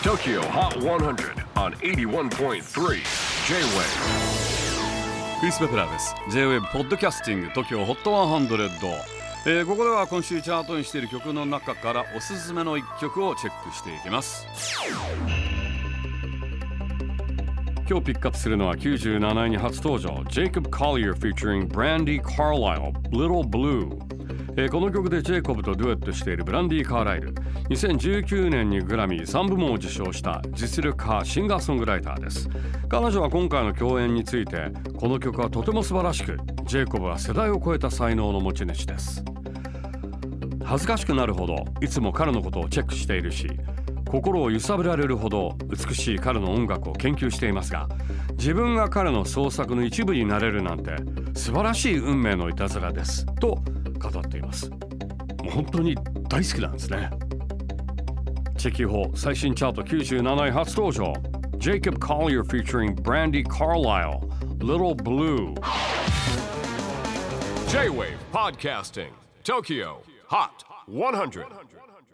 TOKYO HOT 100 on 81.3 J-WAVE クリス・ベプラーです。 J-WAVE ポッドキャスティング TOKYO HOT 100、ここでは今週チャートにしている曲の中からおすすめの一曲をチェックしていきます。今日ピックアップするのは97位に初登場 Jacob Collier featuring Brandy Carlisle Little Blue、この曲でジェイコブとデュエットしているブランディ・カーライル、2019年にグラミー3部門を受賞した実力派シンガーソングライターです。彼女は今回の共演について、この曲はとても素晴らしく、ジェイコブは世代を超えた才能の持ち主です。恥ずかしくなるほどいつも彼のことをチェックしているし、心を揺さぶられるほど美しい彼の音楽を研究していますが、自分が彼の創作の一部になれるなんて素晴らしい運命のいたずらですと語っています。もう本当に大好きなんですね。チェキホ最新チャート97位初登場 Jacob Collier featuring Brandy Carlisle Little Blue。 J-WAVE PODCASTING TOKYO HOT 100